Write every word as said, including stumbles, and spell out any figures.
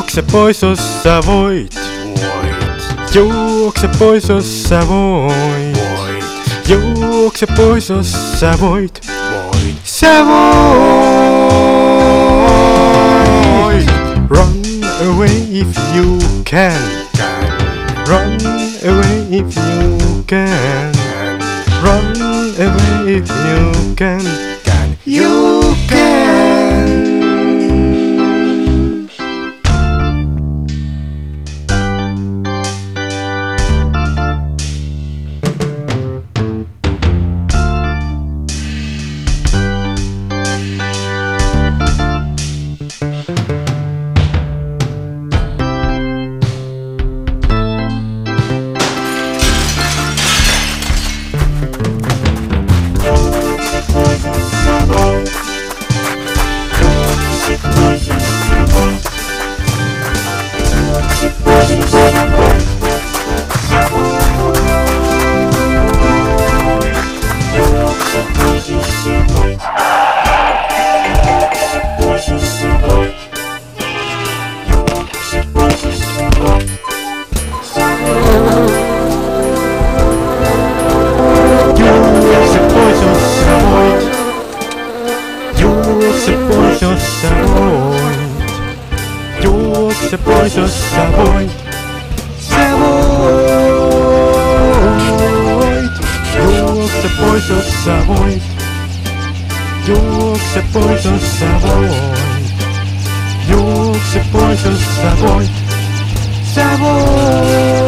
Juokse pois, jos sä voit. Voit, Juokse pois, jos sä voit. voit, Juokse pois, jos sä voit. voit. Sä voit. Run away if you can. Can, Run away if you can. can, Run away if you can. can. You can. Juokse pois, jos sä voit. Juokse pois, jos sä voit. Juokse pois, jos sä voit. Sä voit. Juokse pois, jos sä voit. Juokse pois, jos sä voit. Juokse pois, jos sä voit. Sä voit.